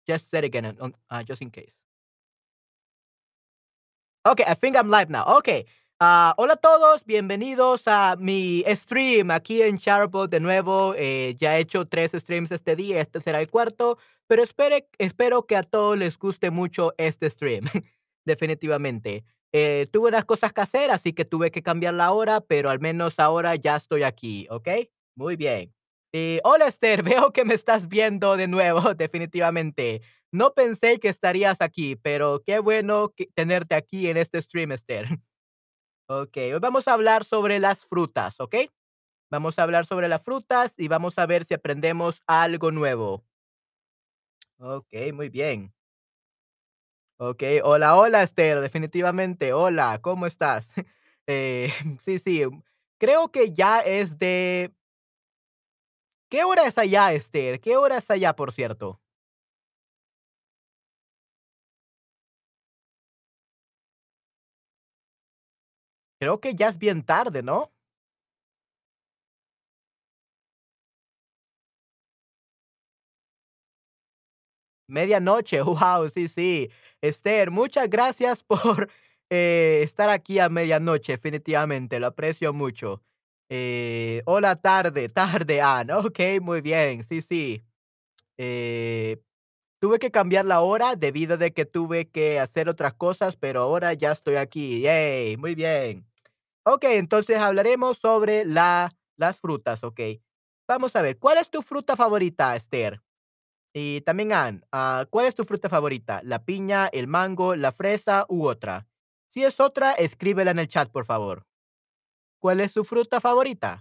Just say it again, just in case. Okay, I think I'm live now. Okay. Hola a todos, bienvenidos a mi stream aquí en Charbo de nuevo. Ya he hecho 3 streams este día, este será el cuarto, pero espero que a todos les guste mucho este stream, definitivamente. Tuve unas cosas que hacer, así que tuve que cambiar la hora, pero al menos ahora ya estoy aquí, ¿ok? Muy bien. Hola Esther, veo que me estás viendo de nuevo, definitivamente. No pensé que estarías aquí, pero qué bueno tenerte aquí en este stream, Esther. Ok, hoy vamos a hablar sobre las frutas, ¿ok? Vamos a hablar sobre las frutas y vamos a ver si aprendemos algo nuevo. Ok, muy bien. Ok, hola, hola, Esther, definitivamente. Hola, ¿cómo estás? Sí, sí, creo que ya es de... ¿Qué hora es allá, Esther? ¿Qué hora es allá, por cierto? Creo que ya es bien tarde, ¿no? Medianoche, wow, sí, sí. Esther, muchas gracias por estar aquí a medianoche, definitivamente, lo aprecio mucho. Hola, tarde, tarde, Ann. Ok, muy bien, sí, sí. Eh, Tuve que cambiar la hora debido de que tuve que hacer otras cosas, pero ahora ya estoy aquí. Yay, muy bien. Ok, entonces hablaremos sobre las frutas, ok. Vamos a ver, ¿cuál es tu fruta favorita, Esther? Y también, Ann, ¿cuál es tu fruta favorita? ¿La piña, el mango, la fresa u otra? Si es otra, escríbela en el chat, por favor. ¿Cuál es su fruta favorita?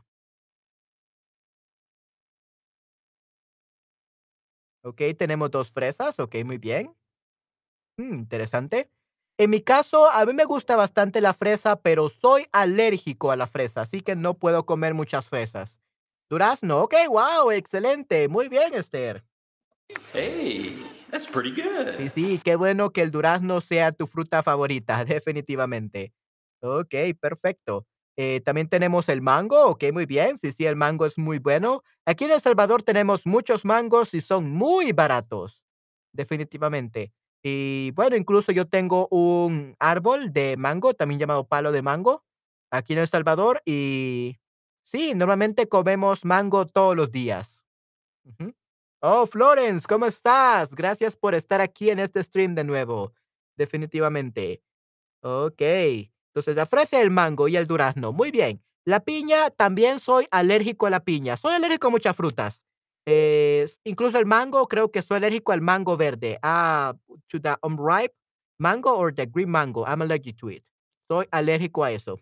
Ok, tenemos dos fresas, ok, muy bien. Interesante. En mi caso, a mí me gusta bastante la fresa, pero soy alérgico a la fresa, así que no puedo comer muchas fresas. Durazno, ok, wow, excelente, muy bien, Esther. Hey, that's pretty good. Sí, sí, qué bueno que el durazno sea tu fruta favorita, definitivamente. Okey, perfecto. También tenemos el mango, okey, muy bien. Sí, sí, el mango es muy bueno. Aquí en El Salvador tenemos muchos mangos y son muy baratos, definitivamente. Y bueno, incluso yo tengo un árbol de mango, también llamado palo de mango, aquí en El Salvador, y sí, normalmente comemos mango todos los días. Ujú. Oh, Florence, ¿cómo estás? Gracias por estar aquí en este stream de nuevo. Definitivamente. Ok. Entonces, la fresa, el mango y el durazno. Muy bien. La piña, también soy alérgico a la piña. Soy alérgico a muchas frutas. Incluso el mango, creo que soy alérgico al mango verde. To the unripe mango or the green mango. I'm allergic to it. Soy alérgico a eso.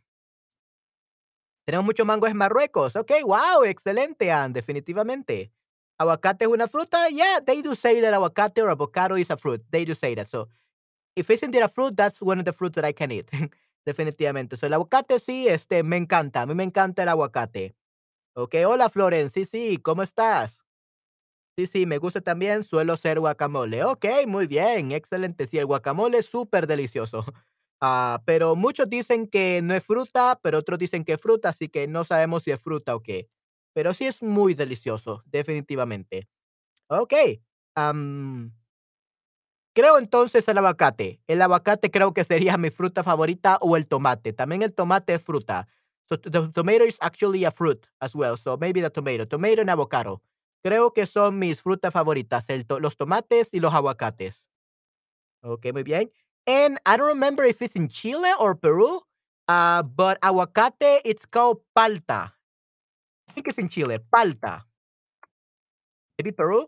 Tenemos mucho mango en Marruecos. Ok, wow, excelente, Ann, definitivamente. Aguacate es una fruta. Yeah, they do say that aguacate or avocado is a fruit. They do say that. So, if it's indeed a fruit, that's one of the fruits that I can eat. Definitivamente. So, el aguacate sí, me encanta. A mí me encanta el aguacate. Ok, hola, Florence. Sí, sí, ¿cómo estás? Sí, sí, me gusta también. Suelo hacer guacamole. Ok, muy bien, excelente. Sí, el guacamole es súper delicioso. Pero muchos dicen que no es fruta, pero otros dicen que es fruta, así que no sabemos si es fruta o qué. Pero sí es muy delicioso, definitivamente. Ok. am, Creo entonces el aguacate. El aguacate creo que sería mi fruta favorita o el tomate. También el tomate es fruta. So the tomato is actually a fruit as well. So maybe the tomato. Tomato and avocado. Creo que son mis frutas favoritas, los tomates y los aguacates. Okay, muy bien. And I don't remember if it's in Chile or Peru, but aguacate, it's called palta. I think it's in Chile, palta. Maybe Peru?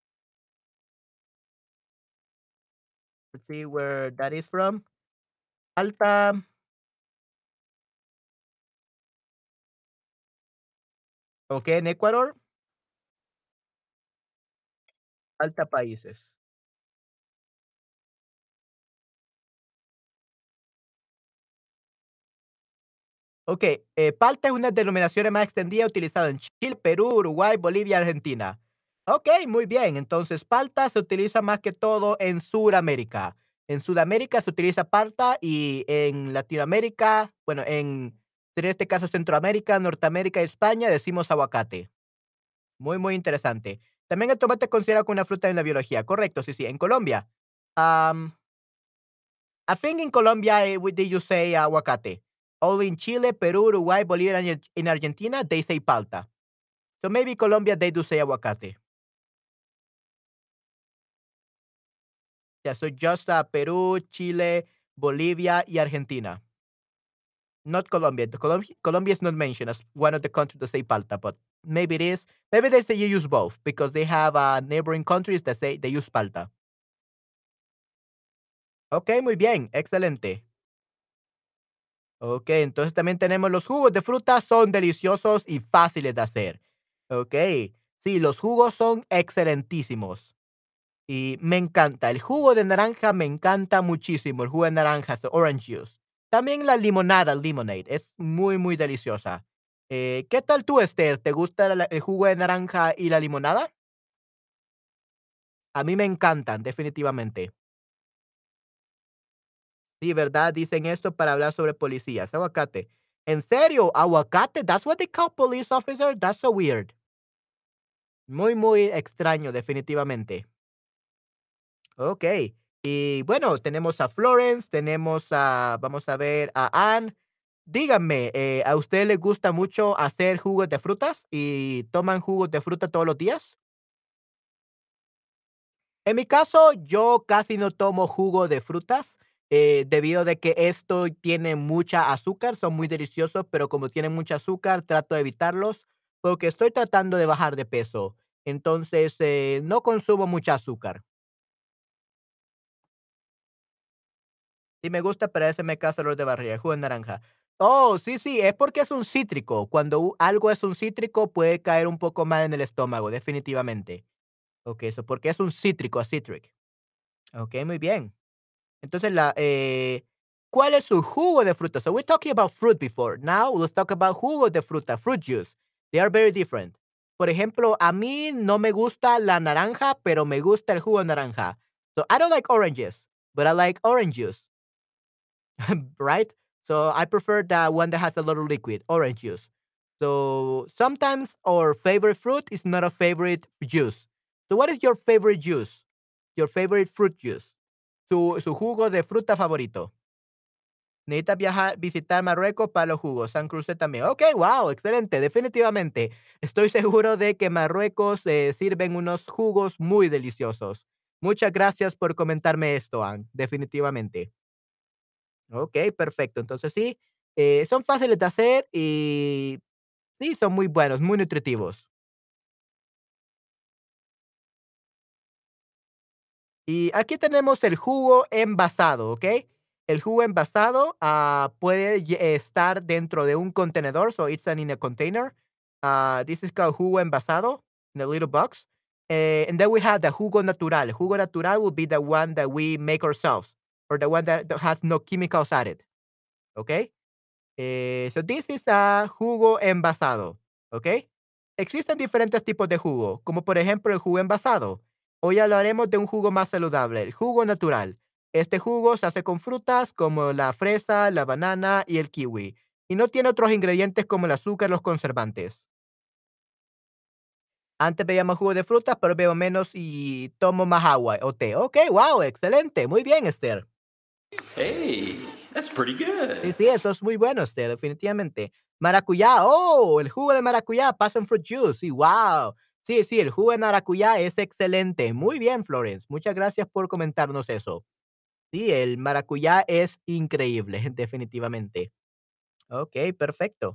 Let's see where that is from. Palta. Okay, en Ecuador. Palta países. Ok, palta es una denominación más extendida utilizada en Chile, Perú, Uruguay, Bolivia, Argentina. Ok, muy bien. Entonces, palta se utiliza más que todo en Sudamérica. En Sudamérica se utiliza palta y en Latinoamérica, bueno, en este caso Centroamérica, Norteamérica y España decimos aguacate. Muy, muy interesante. También el tomate es considerado como una fruta en la biología. Correcto, sí, sí. En Colombia. Um, I think in Colombia, they just say aguacate. Only in Chile, Peru, Uruguay, Bolivia, and in Argentina, they say palta. So maybe Colombia, they do say aguacate. Yeah, so just Peru, Chile, Bolivia, y Argentina. Not Colombia. Colombia is not mentioned as one of the countries that say palta, but maybe it is. Maybe they say you use both because they have neighboring countries that say they use palta. Ok, muy bien, excelente. Ok, entonces también tenemos los jugos de fruta, son deliciosos y fáciles de hacer. Ok, sí, los jugos son excelentísimos y me encanta. El jugo de naranja me encanta muchísimo. El jugo de naranja, so orange juice. También la limonada, lemonade, es muy, muy deliciosa. ¿Qué tal tú, Esther? ¿Te gusta el jugo de naranja y la limonada? A mí me encantan, definitivamente. Sí, ¿verdad? Dicen esto para hablar sobre policías. Aguacate. ¿En serio? ¿Aguacate? That's what they call police officer? That's so weird. Muy, muy extraño, definitivamente. Ok. Y bueno, tenemos a Florence, tenemos a, vamos a ver, a Anne. Díganme, ¿a usted le gusta mucho hacer jugos de frutas y toman jugos de fruta todos los días? En mi caso, yo casi no tomo jugo de frutas, debido de que esto tiene mucha azúcar, son muy deliciosos, pero como tienen mucha azúcar, trato de evitarlos porque estoy tratando de bajar de peso. Entonces, no consumo mucha azúcar. Sí me gusta, pero ese me causa dolor de barriga, el jugo de naranja. Oh, sí, sí, es porque es un cítrico. Cuando algo es un cítrico, puede caer un poco mal en el estómago, definitivamente. Ok, eso porque es un cítrico, a citric. Ok, muy bien. Entonces, ¿cuál es su jugo de fruta? So we're talking about fruit before. Now let's talk about jugo de fruta, fruit juice. They are very different. Por ejemplo, a mí no me gusta la naranja, pero me gusta el jugo de naranja. So I don't like oranges, but I like orange juice, right? So I prefer the one that has a little liquid, orange juice. So sometimes our favorite fruit is not a favorite juice. So what is your favorite juice? Your favorite fruit juice? Su jugo de fruta favorito. Necesitas viajar, visitar Marruecos para los jugos, San Cruce también. Ok, wow, excelente, definitivamente. Estoy seguro de que Marruecos sirven unos jugos muy deliciosos. Muchas gracias por comentarme esto, Ann, definitivamente. Ok, perfecto. Entonces sí, son fáciles de hacer y sí, son muy buenos, muy nutritivos. Y aquí tenemos el jugo envasado, ¿ok? El jugo envasado puede estar dentro de un contenedor, so it's in a container. This is called jugo envasado in a little box. And then we have the jugo natural. Jugo natural will be the one that we make ourselves or the one that has no chemicals added, ¿ok? So this is a jugo envasado, ¿ok? Existen diferentes tipos de jugo, como por ejemplo el jugo envasado. Hoy hablaremos de un jugo más saludable, el jugo natural. Este jugo se hace con frutas como la fresa, la banana y el kiwi, y no tiene otros ingredientes como el azúcar y los conservantes. Antes veíamos jugo de frutas, pero veo menos y tomo más agua o té. Ok, wow, excelente, muy bien, Esther. Hey, that's pretty Sí, good. sí, eso es muy bueno, definitivamente. Maracuyá, oh, el jugo de maracuyá, passion fruit juice, sí, wow. Sí, sí, el jugo de maracuyá es excelente. Muy bien, Florence. Muchas gracias por comentarnos eso. Sí, el maracuyá es increíble, definitivamente. Ok, perfecto.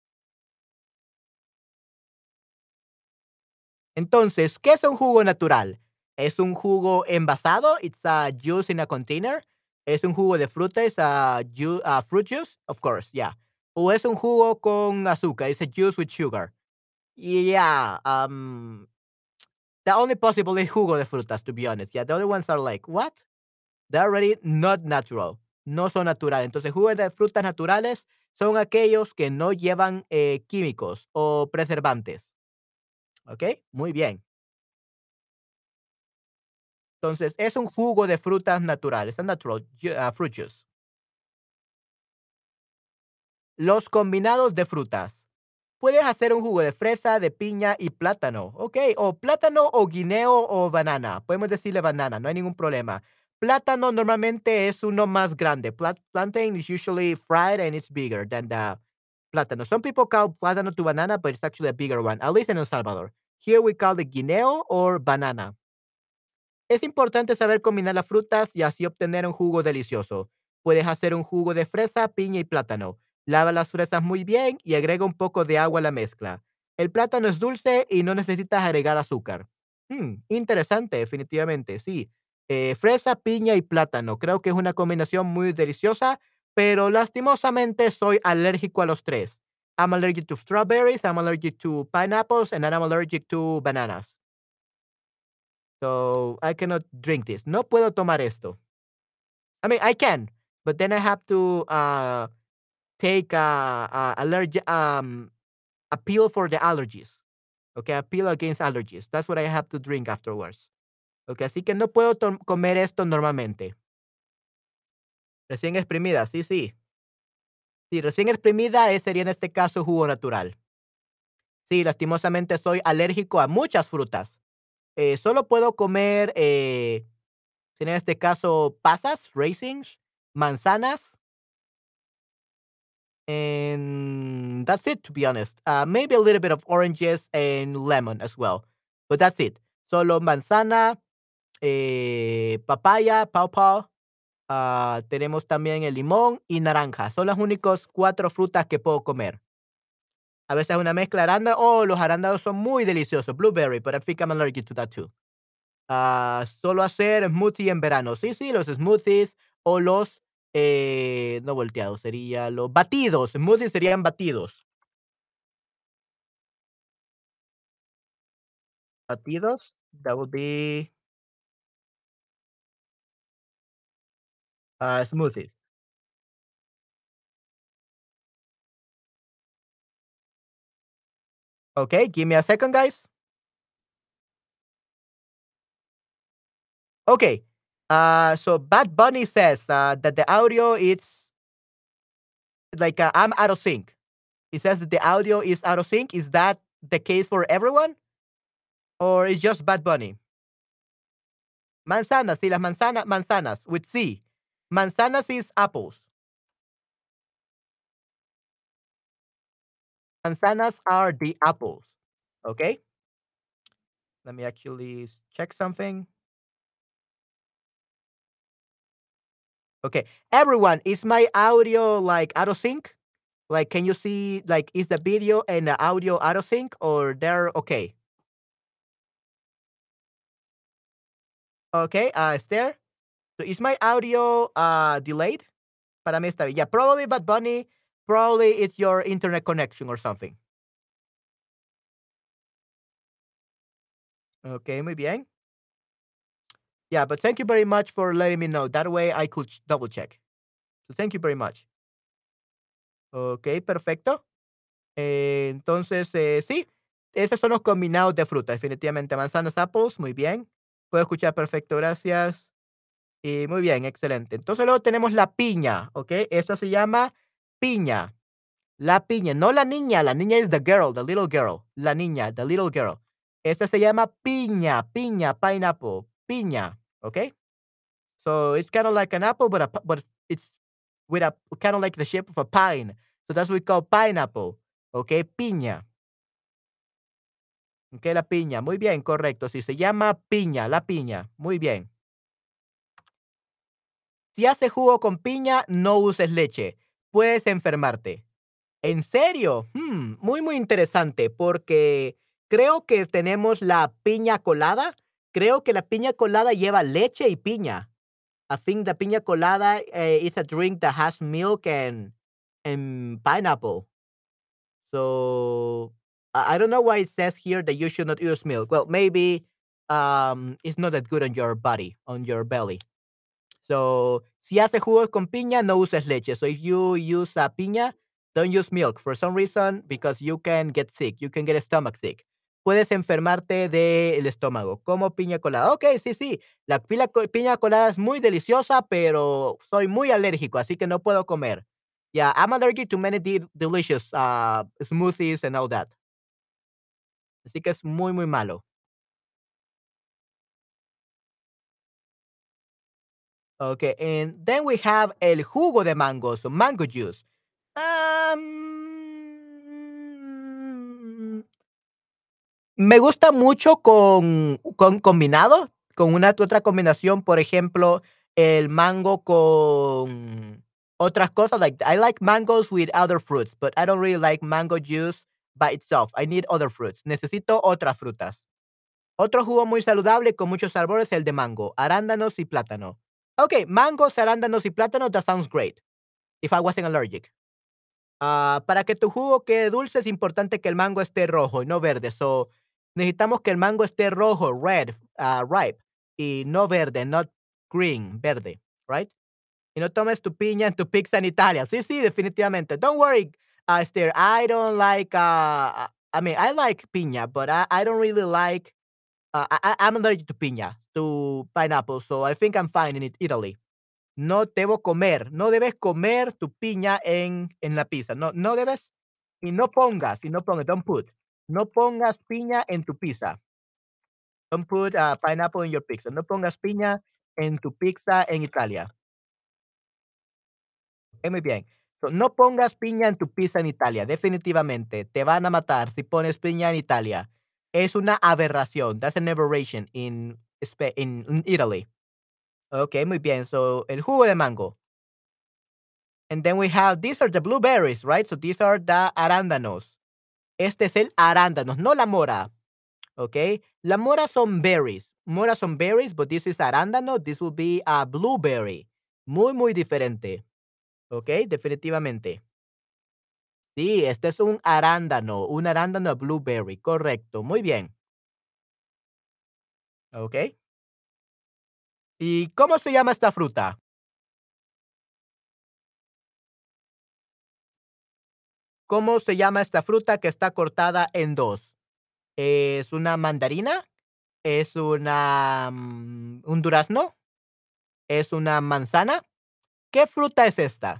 Entonces, ¿qué es un jugo natural? ¿Es un jugo envasado? It's a juice in a container. ¿Es un jugo de fruta? ¿Es a fruit juice? Of course, yeah. ¿O es un jugo con azúcar? It's a juice with sugar. Yeah, the only possible is jugo de frutas, to be honest. Yeah, the other ones are like, what? They're already not natural. No son naturales. Entonces, jugos de frutas naturales son aquellos que no llevan químicos o preservantes. ¿Ok? Muy bien. Entonces, es un jugo de frutas naturales, a natural fruit juice. Los combinados de frutas. puedes hacer un jugo de fresa, de piña y plátano, okey, o plátano, o guineo, o banana. Podemos decirle banana, no hay ningún problema. Plátano normalmente es uno más grande. Plantain is usually fried and it's bigger than the plátano. Some people call plátano to banana, but it's actually a bigger one, at least in El Salvador. Here we call it guineo or banana. Es importante saber combinar las frutas y así obtener un jugo delicioso. Puedes hacer un jugo de fresa, piña y plátano. Lava las fresas muy bien y agrega un poco de agua a la mezcla. El plátano es dulce y no necesitas agregar azúcar. Interesante, definitivamente, sí. Fresa, piña y plátano. Creo que es una combinación muy deliciosa, pero lastimosamente soy alérgico a los tres. I'm allergic to strawberries, I'm allergic to pineapples, and I'm allergic to bananas. So, I cannot drink this. No puedo tomar esto. I mean, I can, but then I have to, take a pill for the allergies. Okay, a pill against allergies. That's what I have to drink afterwards. Okay, así que no puedo comer esto normalmente. Recién exprimida, sí, sí. Sí, recién exprimida, sería en este caso jugo natural. Sí, lastimosamente soy alérgico a muchas frutas. Solo puedo comer, en este caso, pasas, raisins, manzanas, and that's it, to be honest. Maybe a little bit of oranges and lemon as well, but that's it. Solo manzana, papaya, pawpaw, tenemos también el limón y naranja. Son las únicos 4 frutas que puedo comer. A veces una mezcla de arándano. Oh, los arándanos son muy deliciosos. Blueberry, but I think I'm allergic to that too. Solo hacer smoothie en verano. Sí, sí, los smoothies o los, no volteados, sería los batidos. Smoothies serían batidos. Batidos, that would be, smoothies. Okay, give me a second, guys. Okay. So Bad Bunny says, that the audio is like, I'm out of sync. He says that the audio is out of sync. Is that the case for everyone? Or is just Bad Bunny? Manzanas, sí, las manzanas, with C. Manzanas is apples. Manzanas are the apples. Okay? Let me actually check something. Okay. Everyone, is my audio like out of sync? Like, can you see, like, is the video and the audio out of sync or they're okay? Okay, Esther. So is my audio delayed? Para mí está bien. Yeah, probably Bad Bunny. Probably it's your internet connection or something. Okay, muy bien. Yeah, but thank you very much for letting me know. That way I could double check. So thank you very much. Okay, perfecto. Entonces, sí, esos son los combinados de fruta, definitivamente. Manzanas, apples, muy bien. Puedo escuchar perfecto, gracias. Y muy bien, excelente. Entonces luego tenemos la piña, ¿ok? Esto se llama piña. La piña, no la niña es the girl, the little girl. La niña, the little girl. Esta se llama piña, piña, pineapple, piña, ¿ok? So it's kind of like an apple, but it's with a kind of like the shape of a pine. So that's what we call pineapple, ¿ok? Piña, ¿ok? La piña, muy bien, correcto. Sí, se llama piña, la piña, muy bien. Si haces jugo con piña, no uses leche. Puedes enfermarte. ¿En serio? Muy, muy interesante, porque creo que tenemos la piña colada. Creo que la piña colada lleva leche y piña. I think the piña colada is a drink that has milk and pineapple. So I don't know why it says here that you should not use milk. Well, maybe it's not that good on your body, on your belly. So, si haces jugos con piña, no uses leche. So, if you use piña, don't use milk for some reason because you can get sick. You can get stomach sick. Puedes enfermarte del estómago, como piña colada. Ok, sí, sí. La piña colada es muy deliciosa, pero soy muy alérgico, así que no puedo comer. Yeah, I'm allergic to many delicious smoothies and all that. Así que es muy, muy malo. Okay, and then we have el jugo de mango, so mango juice. Me gusta mucho con combinado, con una otra combinación, por ejemplo, el mango con otras cosas, like, I like mangoes with other fruits, but I don't really like mango juice by itself. I need other fruits. Necesito otras frutas. Otro jugo muy saludable con muchos sabores es el de mango, arándanos y plátano. Okay, mangos, arándanos y plátanos, that sounds great, if I wasn't allergic. Para que tu jugo quede dulce es importante que el mango esté rojo y no verde. So, necesitamos que el mango esté rojo, red, ripe, y no verde, not green, verde, right? Y no tomes tu piña en tu pizza en Italia. Sí, sí, definitivamente. Don't worry, Esther. I don't like, I mean, I like piña, but I don't really like, I'm allergic to piña, to pineapple, so I think I'm fine in Italy. No debo comer, no debes comer tu piña en la pizza. No, no debes y no pongas, don't put. No pongas piña en tu pizza. Don't put, pineapple in your pizza. No pongas piña en tu pizza en Italia. Muy bien. So, no pongas piña en tu pizza en Italia, definitivamente. Te van a matar si pones piña en Italia. Es una aberración. That's an aberration in Italy. Okey, muy bien. So, el jugo de mango. And then we have these are the blueberries, right? So these are the arándanos. Este es el arándanos, no la mora, ¿ok? La mora son berries. Mora son berries, but this is arándano. This will be a blueberry. Muy, muy diferente, ¿ok? Definitivamente. Sí, este es un arándano blueberry, correcto. Muy bien, ¿ok? ¿Y cómo se llama esta fruta? ¿Cómo se llama esta fruta que está cortada en dos? ¿Es una mandarina? ¿Es un durazno? ¿Es una manzana? ¿Qué fruta es esta?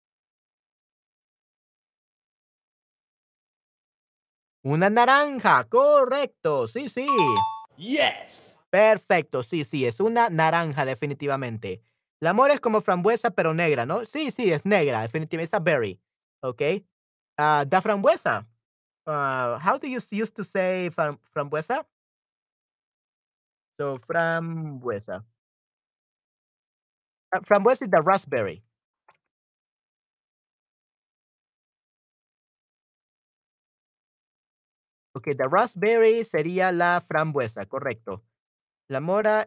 Una naranja, correcto, sí, sí. Yes. Perfecto, sí, sí, es una naranja definitivamente. La mora es como frambuesa, pero negra, ¿no? Sí, sí, es negra, definitivamente, es a berry, ¿ok? Da frambuesa. How do you used to say frambuesa? So, frambuesa. Frambuesa is the raspberry. Ok, the raspberry sería la frambuesa, correcto. La mora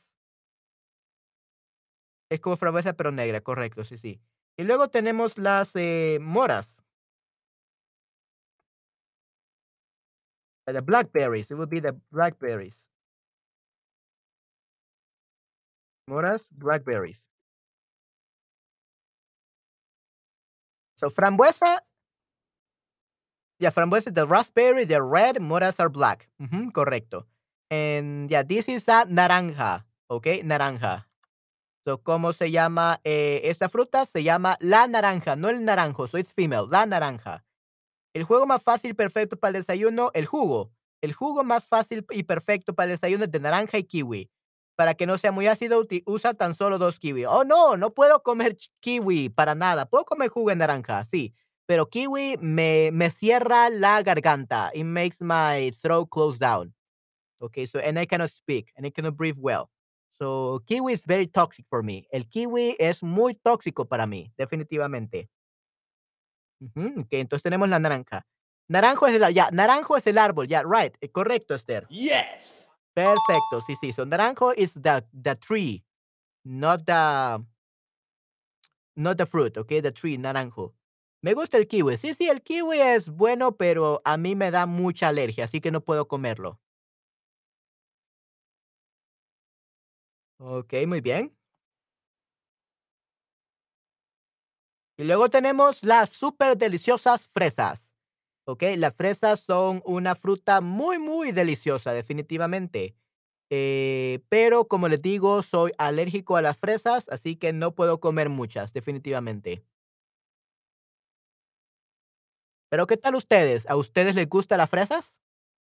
es como frambuesa, pero negra, correcto, sí, sí. Y luego tenemos las, moras, the blackberries, it would be the blackberries. Moras, blackberries. So frambuesa, yeah, frambuesa is the raspberry, the red, moras are black. Ujú, correcto. And yeah, this is a naranja, okay, naranja. So, ¿cómo se llama, esta fruta? Se llama la naranja, no el naranjo, so it's female, la naranja. El juego más fácil y perfecto para el desayuno, el jugo. El jugo más fácil y perfecto para el desayuno es de naranja y kiwi. Para que no sea muy ácido, usa tan solo 2 kiwi. Oh, no, no puedo comer kiwi para nada. Puedo comer jugo de naranja, sí, pero kiwi me cierra la garganta. It makes my throat close down. Okay, so and I cannot speak and I cannot breathe well. So kiwi is very toxic for me. El kiwi es muy tóxico para mí, definitivamente. Ujú, okey, entonces tenemos la naranja. Naranjo es el árbol, ya, right, correcto, Esther. Yes. Perfecto, sí, sí, so naranjo is the tree, not the fruit, okey, the tree, naranjo. Me gusta el kiwi. Sí, sí, el kiwi es bueno, pero a mí me da mucha alergia, así que no puedo comerlo. Okey, muy bien. Y luego tenemos las súper deliciosas fresas, ¿okey? Las fresas son una fruta muy, muy deliciosa, definitivamente. Pero como les digo, soy alérgico a las fresas, así que no puedo comer muchas, definitivamente. Pero, ¿qué tal ustedes? ¿A ustedes les gustan las fresas?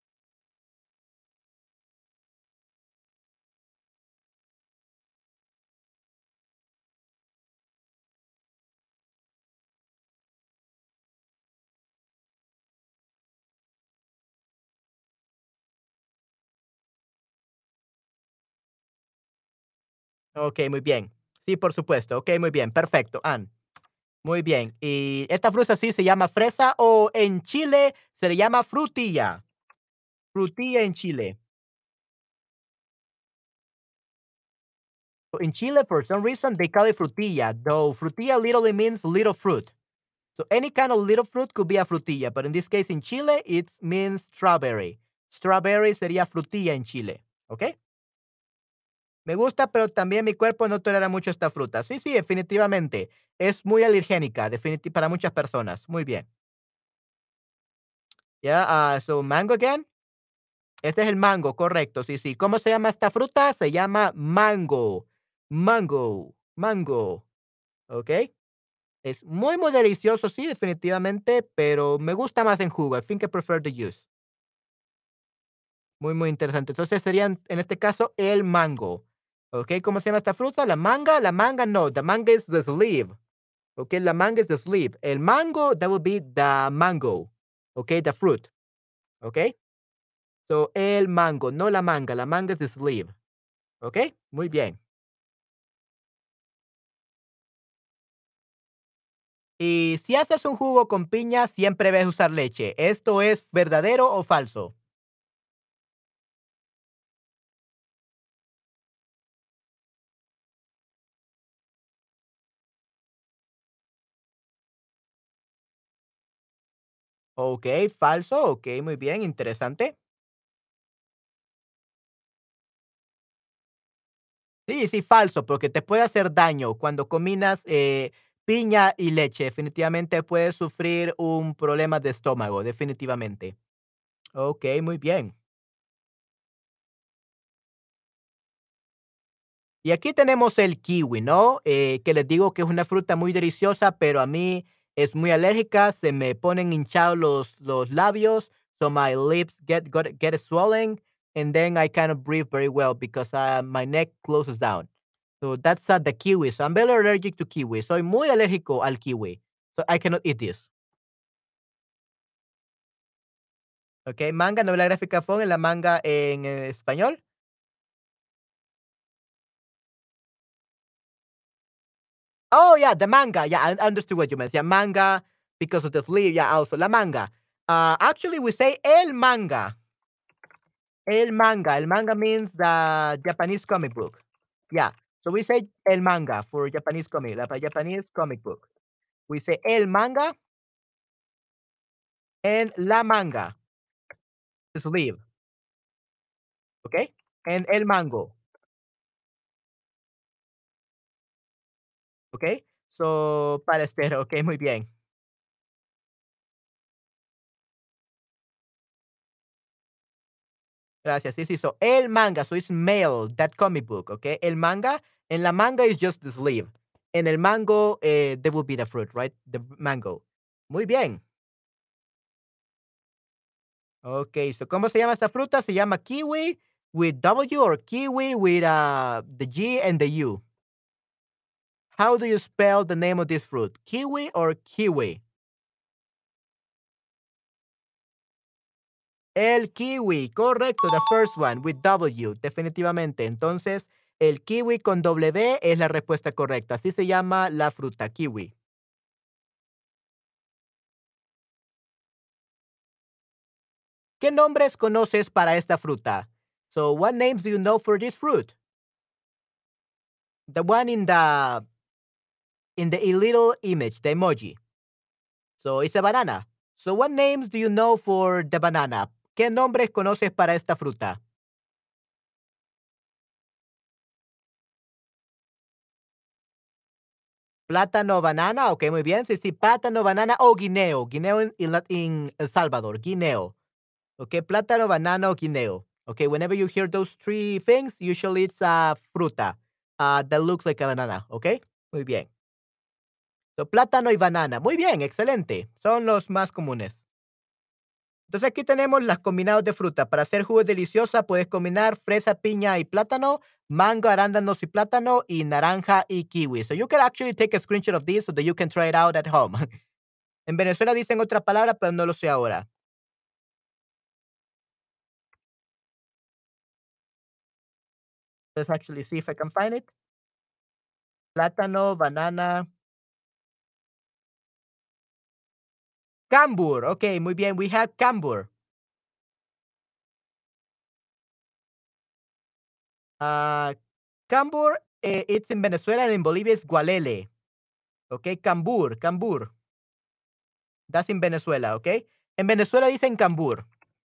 Okey, muy bien. Sí, por supuesto. Okey, muy bien, perfecto, muy bien. ¿Y esta fruta sí se llama fresa o en Chile se le llama frutilla? Frutilla en Chile. In Chile, for some reason, they call it frutilla, though frutilla literally means little fruit. So any kind of little fruit could be a frutilla, but in this case, in Chile, it means strawberry. Strawberry sería frutilla en Chile, ¿okey? Me gusta, pero también mi cuerpo no tolera mucho esta fruta. Sí, sí, definitivamente. Es muy alergénica, para muchas personas. Muy bien. Ya, so mango again. Este es el mango, correcto. Sí, sí. ¿Cómo se llama esta fruta? Se llama mango. Mango, mango. ¿Ok? Es muy, muy delicioso, sí, definitivamente, pero me gusta más en jugo. I think I prefer the juice. Muy, muy interesante. Entonces serían, en este caso, el mango. ¿Ok? ¿Cómo se llama esta fruta? La manga no. The manga is the sleeve. ¿Ok? La manga is the sleeve. El mango, that would be the mango. ¿Ok? The fruit. ¿Ok? So, el mango, no la manga. La manga es the sleeve. ¿Ok? Muy bien. Y si haces un jugo con piña, siempre debes usar leche. ¿Esto es verdadero o falso? Ok, falso. Ok, muy bien, interesante. Sí, sí, falso, porque te puede hacer daño cuando combinas piña y leche. Definitivamente puedes sufrir un problema de estómago, definitivamente. Ok, muy bien. Y aquí tenemos el kiwi, ¿no? Que les digo que es una fruta muy deliciosa, pero a mí es muy alérgica, se me ponen hinchados los labios, so my lips get swollen, and then I cannot breathe very well because my neck closes down. So that's the kiwi. So I'm very allergic to kiwi. Soy muy alérgico al kiwi. So I cannot eat this. Okay, manga, novela gráfica fue en la manga en español. Oh, yeah, the manga. Yeah, I understood what you meant. Yeah, manga because of the sleeve. Yeah, also la manga. Actually, we say el manga. El manga. El manga means the Japanese comic book. Yeah. So we say el manga for Japanese comic, la Japanese comic book. We say el manga and la manga, the sleeve. Okay? And el mango. Okay? So, para estero. Okay, muy bien. Gracias. Sí, sí. So, el manga. So, it's male, that comic book. Okay. El manga. En la manga is just the sleeve. En el mango, there will be the fruit, right? The mango. Muy bien. Okay. So, ¿cómo se llama esta fruta? Se llama kiwi with W or kiwi with the G and the U. How do you spell the name of this fruit? Kiwi or kiwi? El kiwi, correcto, the first one with W, definitivamente. Entonces, el kiwi con W es la respuesta correcta. Así se llama la fruta, kiwi. ¿Qué nombres conoces para esta fruta? So, what names do you know for this fruit? The one in the little image, the emoji. So, it's a banana. So, what names do you know for the banana? ¿Qué nombres conoces para esta fruta? Plátano, banana, ok, muy bien. Sí, sí, plátano, banana o guineo. Guineo en El Salvador, guineo. Ok, plátano, banana o guineo. Ok, whenever you hear those three things, usually it's a fruta that looks like a banana. Ok, muy bien. So, plátano y banana. Muy bien, excelente. Son los más comunes. Entonces aquí tenemos las combinados de fruta. Para hacer jugos deliciosa puedes combinar fresa, piña y plátano, mango, arándanos y plátano y naranja y kiwi. So you can actually take a screenshot of this so that you can try it out at home. En Venezuela dicen otra palabra, pero no lo sé ahora. Let's actually see if I can find it. Plátano, banana, cambur. Okay, muy bien. We have cambur. Ah, cambur, it's in Venezuela and in Bolivia is gualele. Okay, cambur, cambur. That's in Venezuela, okay? En Venezuela dicen cambur.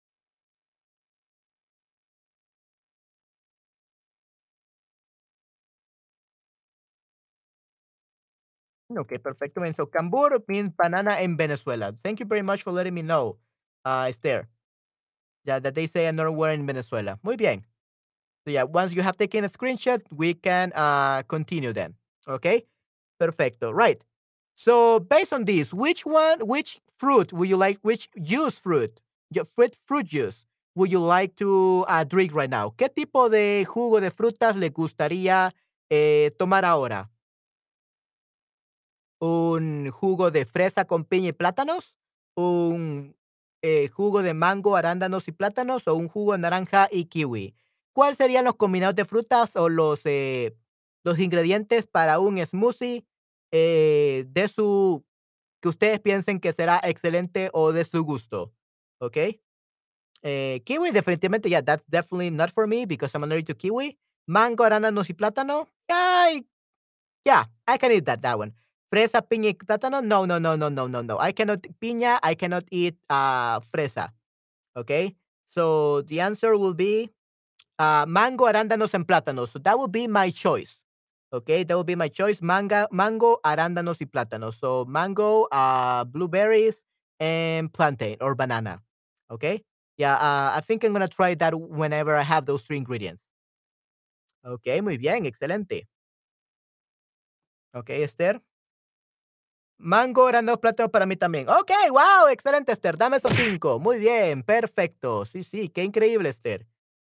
Okay, perfecto. And so cambur means banana in Venezuela. Thank you very much for letting me know, Esther. Yeah, that they say another word in Venezuela. Muy bien. So yeah, once you have taken a screenshot, we can continue then. Okay? Perfecto. Right. So based on this, which fruit would you like, which juice fruit, your fruit juice would you like to drink right now? ¿Qué tipo de jugo de frutas le gustaría tomar ahora? ¿Un jugo de fresa con piña y plátanos? ¿Un jugo de mango, arándanos y plátanos? ¿O un jugo de naranja y kiwi? ¿Cuáles serían los combinados de frutas o los ingredientes para un smoothie de su que ustedes piensen que será excelente o de su gusto? ¿Ok? Kiwi, definitivamente, yeah, that's definitely not for me because I'm allergic to kiwi. Mango, arándanos y plátano. Ay, yeah, I can eat that one. Fresa, piña y plátano? No, no, no, no, no, no, no. I cannot piña, I cannot eat fresa. Okay? So the answer will be mango, arándanos, and plátanos. So that would be my choice. Okay, that would be my choice. Mango, arándanos y plátanos. So mango, blueberries, and plantain or banana. Okay? Yeah, I think I'm gonna try that whenever I have those three ingredients. Okay, muy bien, excelente. Okay, Esther. Mango, arándanos, plátano para mí también. Okey, wow, excelente, Esther, dame esos 5. Muy bien, perfecto. Sí, sí, qué increíble, Esther.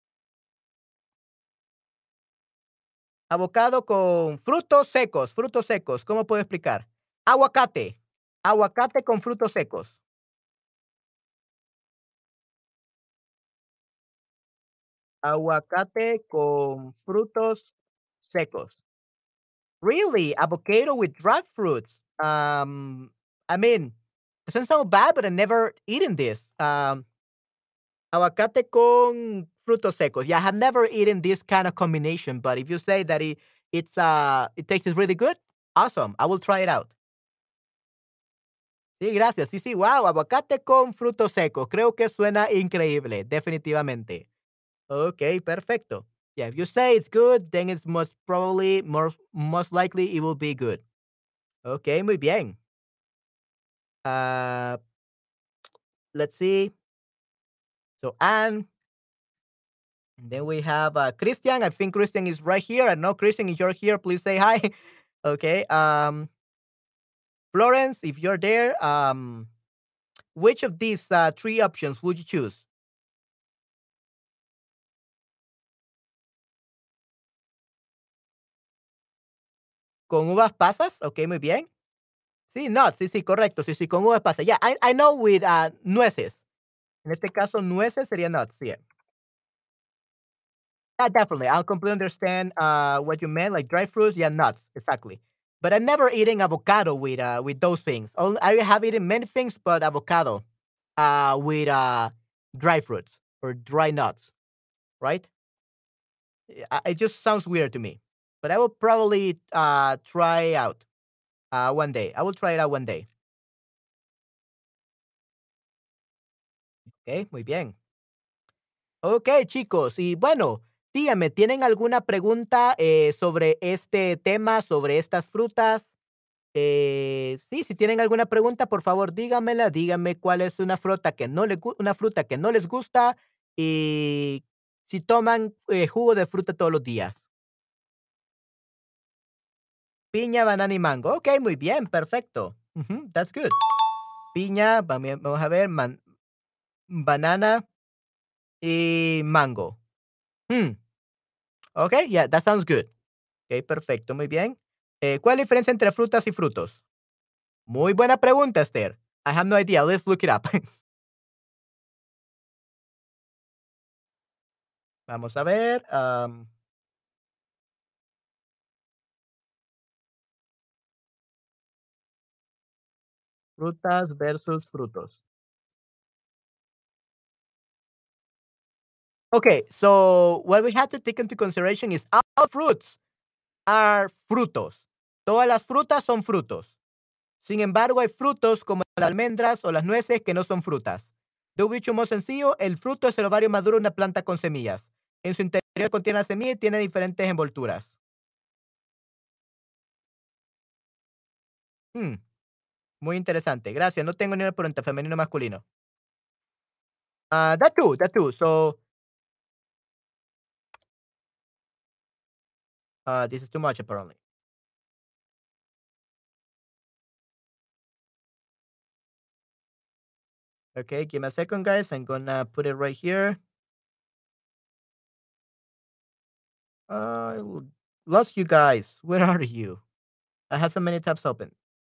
Avocado con frutos secos, ¿cómo puedo explicar? Aguacate, aguacate con frutos secos. Aguacate con frutos secos. Really? Avocado with dried fruits? I mean, it doesn't sound bad, but I never eaten this. Aguacate con frutos secos. Yeah, I have never eaten this kind of combination, but if you say that it tastes really good, awesome. I will try it out. Sí, gracias. Sí, sí, wow, aguacate con frutos secos. Creo que suena increíble, definitivamente. Okay, perfecto. Yeah, if you say it's good, then it's most likely it will be good. Okay, muy bien. Uh, let's see. So Anne, and then we have Christian. I think Christian is right here. I know Christian, if you're here, please say hi. Okay. Florence, if you're there, which of these three options would you choose? ¿Con uvas pasas? Okay, muy bien. Sí, nuts. Sí, sí, correcto. Sí, sí, con uvas pasas. Yeah, I know with nueces. En este caso, nueces sería nuts. Yeah. Yeah, definitely. I'll completely understand what you meant, like dry fruits. Yeah, nuts. Exactly. But I've never eaten avocado with those things. Only, I have eaten many things, but avocado with dry fruits or dry nuts, right? It just sounds weird to me. But I will probably try out one day. I will try it out one day. Okay, muy bien. Ok, chicos. Y bueno, díganme, ¿tienen alguna pregunta sobre este tema, sobre estas frutas? Sí, si tienen alguna pregunta, por favor, díganmela. Díganme cuál es una fruta que no una fruta que no les gusta y si toman jugo de fruta todos los días. Piña, banana y mango. Ok, muy bien, perfecto. Ujú, that's good. Piña, vamos a ver, banana y mango. Hmm, okey, yeah, that sounds good. Okey, perfecto, muy bien. ¿Cuál es la diferencia entre frutas y frutos? Muy buena pregunta, Esther. I have no idea, let's look it up. Vamos a ver, frutas versus frutos. Okay, so what we have to take into consideration is all fruits are frutos. Todas las frutas son frutos. Sin embargo, hay frutos como las almendras o las nueces que no son frutas. De un bicho más sencillo, el fruto es el ovario maduro de una planta con semillas. En su interior contiene la semilla y tiene diferentes envolturas. Hmm, muy interesante. Gracias. No tengo ni una pregunta femenino o masculino. That too, that too. So, this is too much apparently. Okay, give me a second, guys. I'm gonna put it right here. Uh, lost you guys. Where are you? I have so many tabs open.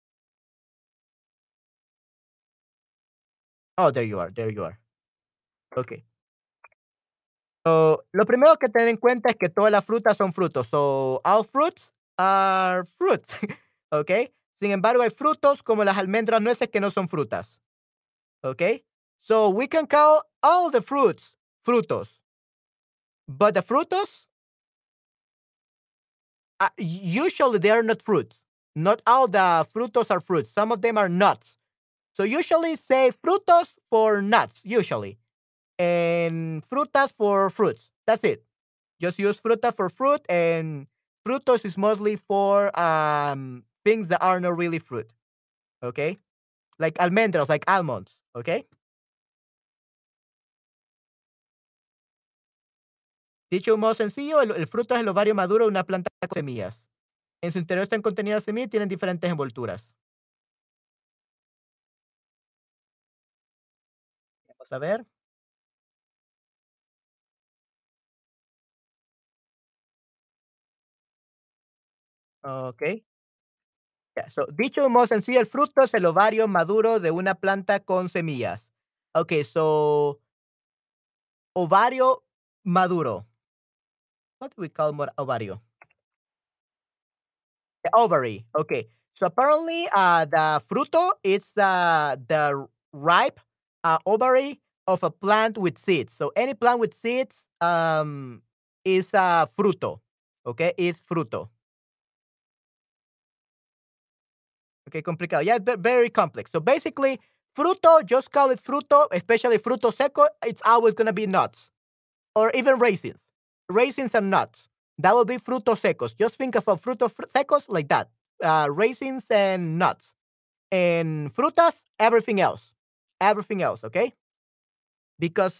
Oh, there you are. There you are. Okay. So, lo primero que tener en cuenta es que todas las frutas son frutos. So, all fruits are fruits. Okay. Sin embargo, hay frutos como las almendras, nueces que no son frutas. Okay. So, we can call all the fruits frutos. But the frutos, usually they are not fruits. Not all the frutos are fruits. Some of them are nuts. So, usually say frutos for nuts, usually. And frutas for fruits. That's it. Just use fruta for fruit, and frutos is mostly for things that are not really fruit. Okay, like almendros, like almonds. Okay. Dicho modo sencillo, el fruto es el ovario maduro de una planta con semillas. En su interior están contenidas semillas y tienen diferentes envolturas. Vamos a ver. Okay. Yeah, so, dicho de modo sencillo, el fruto es el ovario maduro de una planta con semillas. Okay, so ovario maduro. What do we call ovario? The ovary. Okay. So apparently, the fruto is the ripe ovary of a plant with seeds. So any plant with seeds is fruto. Okay, is fruto. Okay, complicado. Yeah, very complex. So basically, fruto, just call it fruto, especially fruto seco. It's always gonna be nuts or even raisins. Raisins and nuts. That will be frutos secos. Just think of a frutos secos like that. Raisins and nuts. And frutas, everything else. Everything else, okay? Because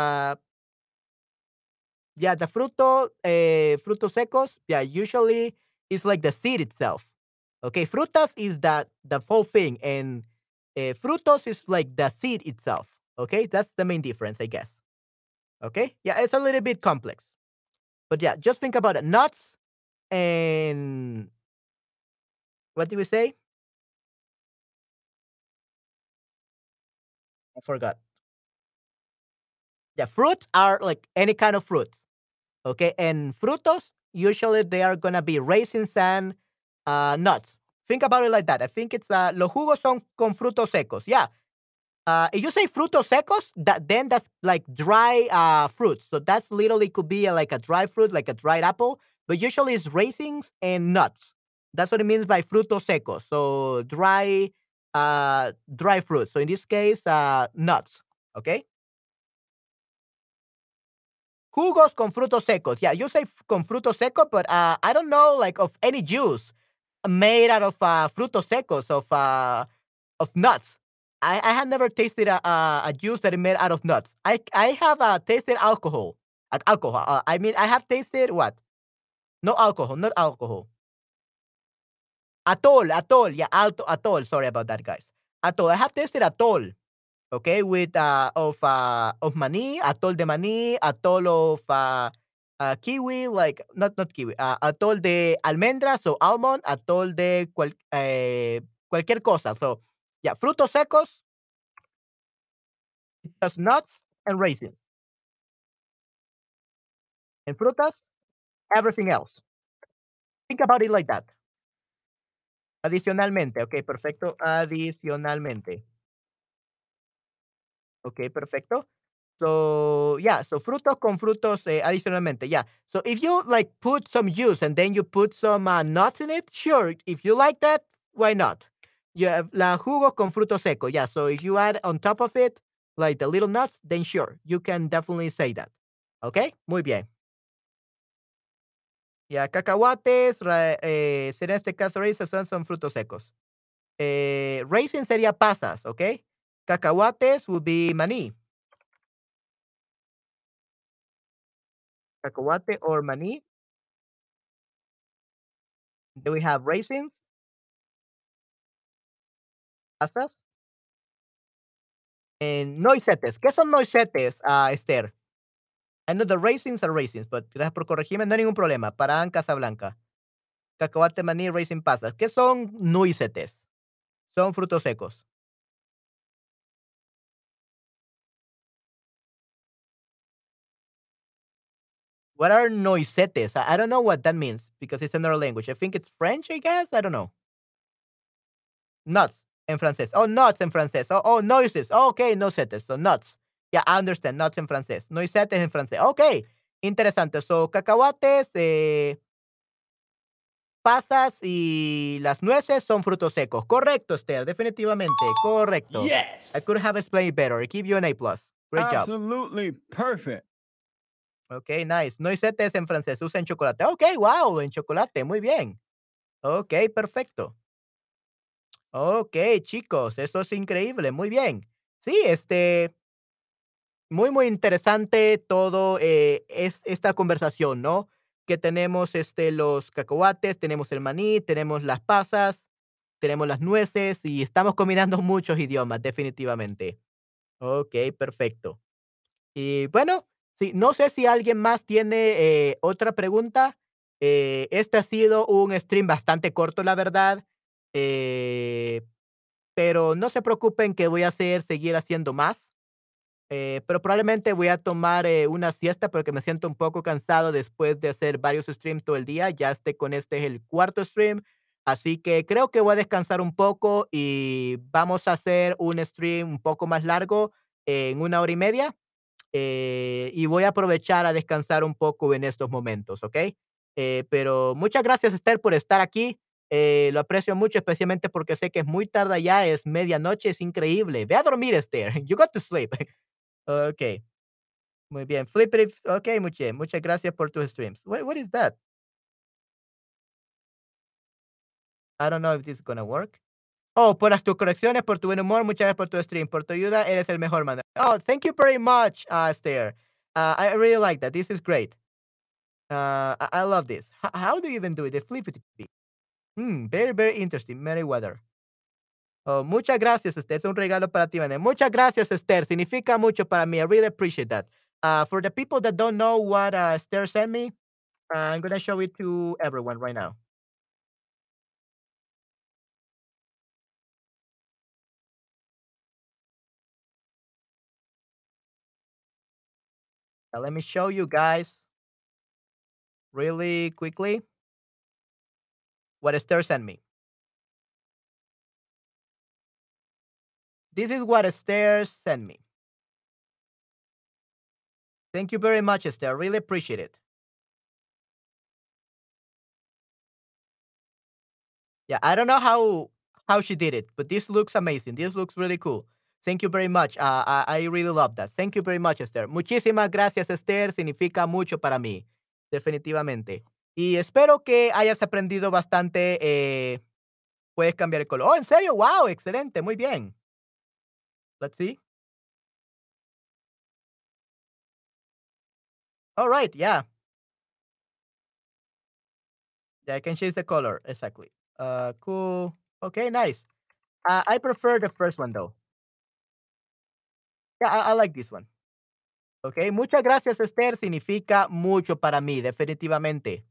yeah, the frutos secos, yeah, usually it's like the seed itself. Okay, frutas is the whole thing, and frutos is like the seed itself. Okay, that's the main difference, I guess. Okay, yeah, it's a little bit complex, but yeah, just think about it. Nuts and what did we say? I forgot. Yeah, fruits are like any kind of fruit. Okay, and frutos, usually they are gonna be raisins and nuts. Think about it like that. I think it's los jugos son con frutos secos. Yeah. If you say frutos secos, that's like dry fruits. So that's literally could be like a dry fruit, like a dried apple. But usually it's raisins and nuts. That's what it means by frutos secos. So dry fruit. So in this case, nuts. Okay. Jugos con frutos secos. Yeah, you say con frutos secos, but I don't know like of any juice made out of frutos secos of nuts. I have never tasted a juice that is made out of nuts. I have tasted alcohol. Alcohol. I mean, I have tasted what? No alcohol, not alcohol. Atol, atol. Yeah, alto, atol. Sorry about that, guys. Atol. I have tasted atol. Okay, with of maní, atol de maní, atol of kiwi, like not kiwi, atol de almendras o almond, atol de cualquier cosa. So, yeah, frutos secos, just nuts and raisins. And frutas, everything else. Think about it like that. Adicionalmente, okey, perfecto, adicionalmente. Okey, perfecto. So, yeah, so frutos con frutos, adicionalmente, yeah. So if you, like, put some juice and then you put some, nuts in it, sure, if you like that, why not? Yeah, la jugo con fruto seco, yeah, so if you add on top of it, like, the little nuts, then sure, you can definitely say that. Okey, muy bien. Ya, cacahuates, en este caso, raisins son frutos secos. Raisin sería pasas, ¿ok? Cacahuates would be maní. Cacahuate or maní. Then we have raisins, pasas, and noisettes. ¿Qué son noisettes, Esther? I know the raisins are raisins, but gracias por corregirme, no hay ningún problema. Para Casablanca. Cacahuate, maní, raisin, pasas. ¿Qué son noisettes? Son frutos secos. What are noisettes? I don't know what that means because it's another language. I think it's French, I guess. I don't know. Nuts en francés. Oh, nuts en francés. Noises. Oh, okey, noisettes. So, nuts. Yeah, I understand. Nuts en francés. Noisettes en francés. Okey, interesante. So, cacahuates, pasas y las nueces son frutos secos. Correcto, Esther, definitivamente, correcto. I Yes. could have explained it better. I give you an A+. plus. Great job. Absolutely perfect. Okey, nice. Noisettes en francés, usa en chocolate. Okey, wow, en chocolate, muy bien. Okey, perfecto. Okey, chicos, eso es increíble, muy bien. Sí, muy, muy interesante todo, es esta conversación, ¿no? Que tenemos, los cacahuates, tenemos el maní, tenemos las pasas, tenemos las nueces y estamos combinando muchos idiomas, definitivamente. Okey, perfecto. Y bueno, sí, no sé si alguien más tiene, otra pregunta. Este ha sido un stream bastante corto, la verdad, eh, pero no se preocupen que voy a seguir haciendo más. Pero probablemente voy a tomar, una siesta porque me siento un poco cansado después de hacer varios streams todo el día. Ya con este es el cuarto stream, así que creo que voy a descansar un poco y vamos a hacer un stream un poco más largo, en 1 hora y media, y voy a aprovechar a descansar un poco en estos momentos, ¿ok? Pero muchas gracias, Esther, por estar aquí. Lo aprecio mucho, especialmente porque sé que es muy tarde ya, es medianoche, es increíble. Ve a dormir, Esther. You got to sleep. Okey, muy bien. Flippity okey, muy bien. Muchas gracias por tus streams. What is that? I don't know if this is gonna work. Oh, por las tus correcciones, por tu buen humor, muchas gracias por tu stream, por tu ayuda, eres el mejor, man. Oh, thank you very much, Esther. I really like that. This is great. I love this. How do you even do it? The flippity. Very, very interesting. Meriwether. Oh, muchas gracias, Esther. Es un regalo para ti, man. Muchas gracias, Esther. Significa mucho para mí. I really appreciate that. For the people that don't know what, Esther sent me, I'm gonna show it to everyone right now. Let me show you guys really quickly what Esther sent me. This is what Esther sent me. Thank you very much, Esther. Really appreciate it. Yeah, I don't know how she did it, but this looks amazing. This looks really cool. Thank you very much. I really love that. Thank you very much, Esther. Muchísimas gracias, Esther. Significa mucho para mí, definitivamente. Y espero que hayas aprendido bastante. Puedes cambiar el color. Oh, ¿en serio? Wow, excelente. Muy bien. Let's see. All right. Yeah. Yeah, I can change the color. Exactly. Cool. Okay, nice. I prefer the first one though. Yeah, I like this one. Okey, muchas gracias, Esther, significa mucho para mí, definitivamente.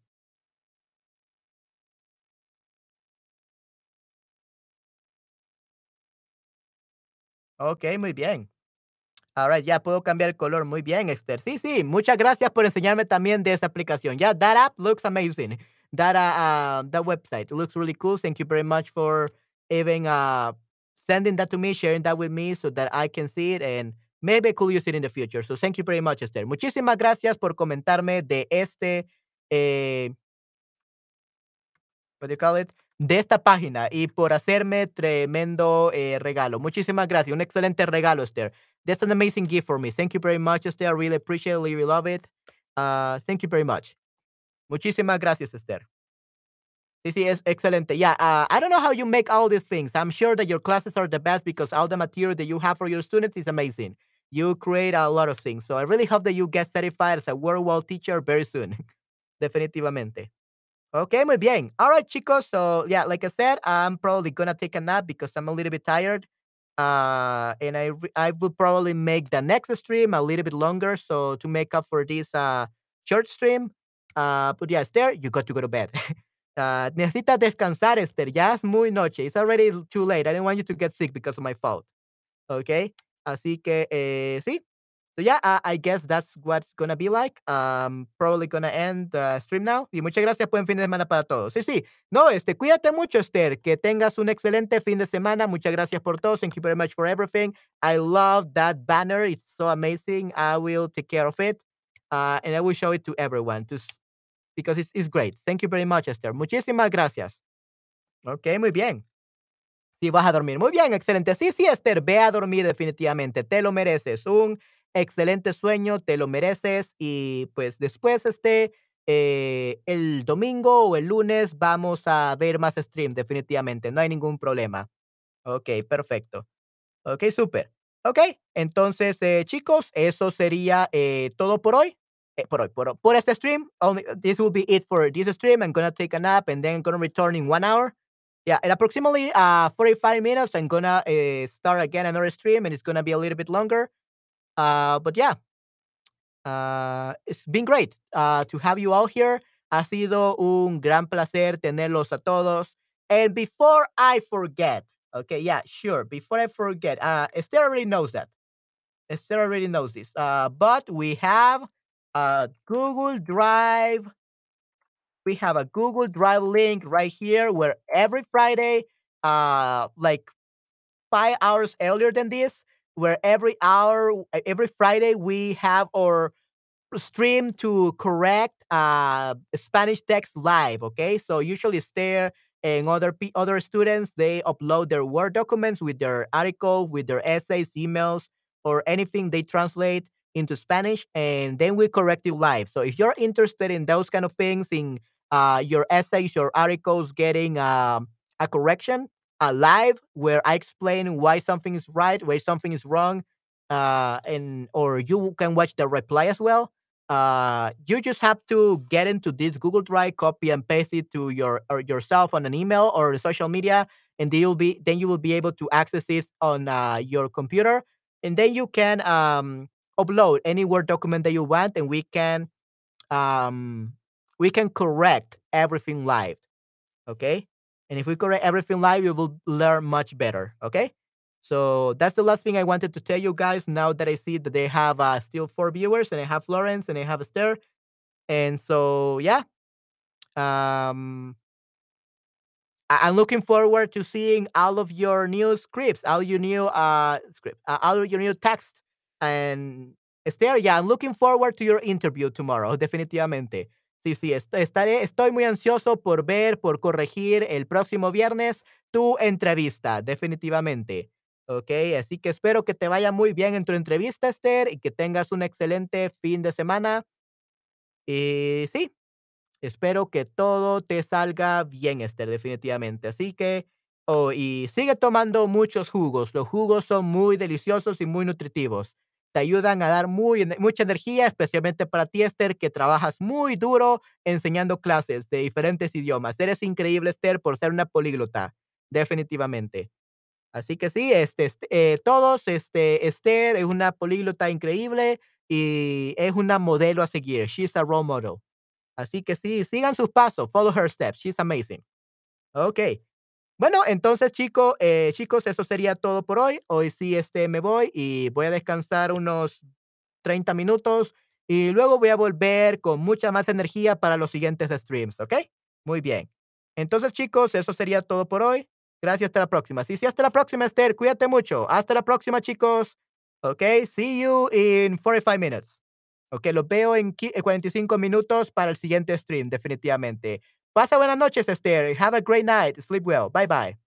Okey, muy bien. Ahora ya puedo cambiar el color. Muy bien, Esther. Sí, sí, muchas gracias por enseñarme también de esa aplicación. Yeah, that app looks amazing. That website looks really cool. Thank you very much for even sending that to me, sharing that with me so that I can see it and maybe I could use it in the future. So thank you very much, Esther. Muchísimas gracias por comentarme de eh, what do you call it? De esta página y por hacerme tremendo regalo. Muchísimas gracias. Un excelente regalo, Esther. That's an amazing gift for me. Thank you very much, Esther. I really appreciate it. Really love it. Thank you very much. Muchísimas gracias, Esther. Sí, sí, es excelente. Yeah, I don't know how you make all these things. I'm sure that your classes are the best because all the material that you have for your students is amazing. You create a lot of things. So I really hope that you get certified as a World Wall teacher very soon. Definitivamente. Okay, muy bien. All right, chicos. So yeah, like I said, I'm probably gonna take a nap because I'm a little bit tired. And I will probably make the next stream a little bit longer, so to make up for this short stream. But yeah, Esther, you got to go to bed. Necesitas descansar, Esther. Ya es muy noche. It's already too late. I didn't want you to get sick because of my fault. Okay. Así que sí. So yeah, I guess that's what's gonna be like. Probably gonna end the stream now. Y muchas gracias. Buen fin de semana para todos. Sí, sí. No, cuídate mucho, Esther. Que tengas un excelente fin de semana. Muchas gracias por todo. Thank you very much for everything. I love that banner. It's so amazing. I will take care of it. And I will show it to everyone because it's great. Thank you very much, Esther. Muchísimas gracias. Ok, muy bien. Sí, vas a dormir. Muy bien, excelente. Sí, sí, Esther, ve a dormir definitivamente. Te lo mereces. Un excelente sueño, te lo mereces. Y pues después, el domingo o el lunes vamos a ver más stream, definitivamente. No hay ningún problema. Ok, perfecto. Ok, súper. Ok, entonces, chicos, eso sería todo por hoy. Por este stream. This will be it for this stream. I'm gonna take a nap and then I'm gonna return in 1 hour. Yeah, in approximately 45 minutes, I'm gonna start again another stream and it's gonna be a little bit longer. But yeah, it's been great to have you all here. Ha sido un gran placer tenerlos a todos. And before I forget, okay, yeah, sure. Before I forget, Esther already knows that. Esther already knows this. But we have a Google Drive. We have a Google Drive link right here where every Friday, like 5 hours earlier than this, where every Friday we have our stream to correct Spanish text live. Okay, so usually Stare and other students they upload their Word documents with their article, with their essays, emails, or anything they translate into Spanish, and then we correct it live. So if you're interested in those kind of things, in your essays, your articles getting a correction live, where I explain why something is right, why something is wrong, and or you can watch the reply as well. You just have to get into this Google Drive, copy and paste it to yourself on an email or social media, and then you will be able to access it on your computer, and then you can upload any Word document that you want, and um, we can correct everything live. Okay, and if we correct everything live, you will learn much better. Okay. So that's the last thing I wanted to tell you guys. Now that I see that they have still 4 viewers, and I have Florence, and I have Esther, and so yeah, I'm looking forward to seeing all of your new scripts, all your new all of your new text, and Esther. Yeah, I'm looking forward to your interview tomorrow, definitivamente. Sí, sí, estoy muy ansioso por ver, por corregir el próximo viernes tu entrevista, definitivamente. Ok, así que espero que te vaya muy bien en tu entrevista, Esther, y que tengas un excelente fin de semana. Y sí, espero que todo te salga bien, Esther, definitivamente. Así que, y sigue tomando muchos jugos. Los jugos son muy deliciosos y muy nutritivos. Te ayudan a dar mucha energía, especialmente para ti, Esther, que trabajas muy duro enseñando clases de diferentes idiomas. Eres increíble, Esther, por ser una políglota. Definitivamente. Así que sí, todos, Esther es una políglota increíble y es una modelo a seguir. She's a role model. Así que sí, sigan sus pasos, follow her steps. She's amazing. Okey. Bueno, entonces, chicos, eso sería todo por hoy. Hoy sí, me voy y voy a descansar unos 30 minutos y luego voy a volver con mucha más energía para los siguientes streams, ¿ok? Muy bien. Entonces, chicos, eso sería todo por hoy. Gracias, hasta la próxima. Sí, sí, hasta la próxima, Esther. Cuídate mucho. Hasta la próxima, chicos. Ok, see you in 45 minutes. Ok, los veo en 45 minutos para el siguiente stream, definitivamente. Pasa buenas noches, Esther. Have a great night. Sleep well. Bye bye.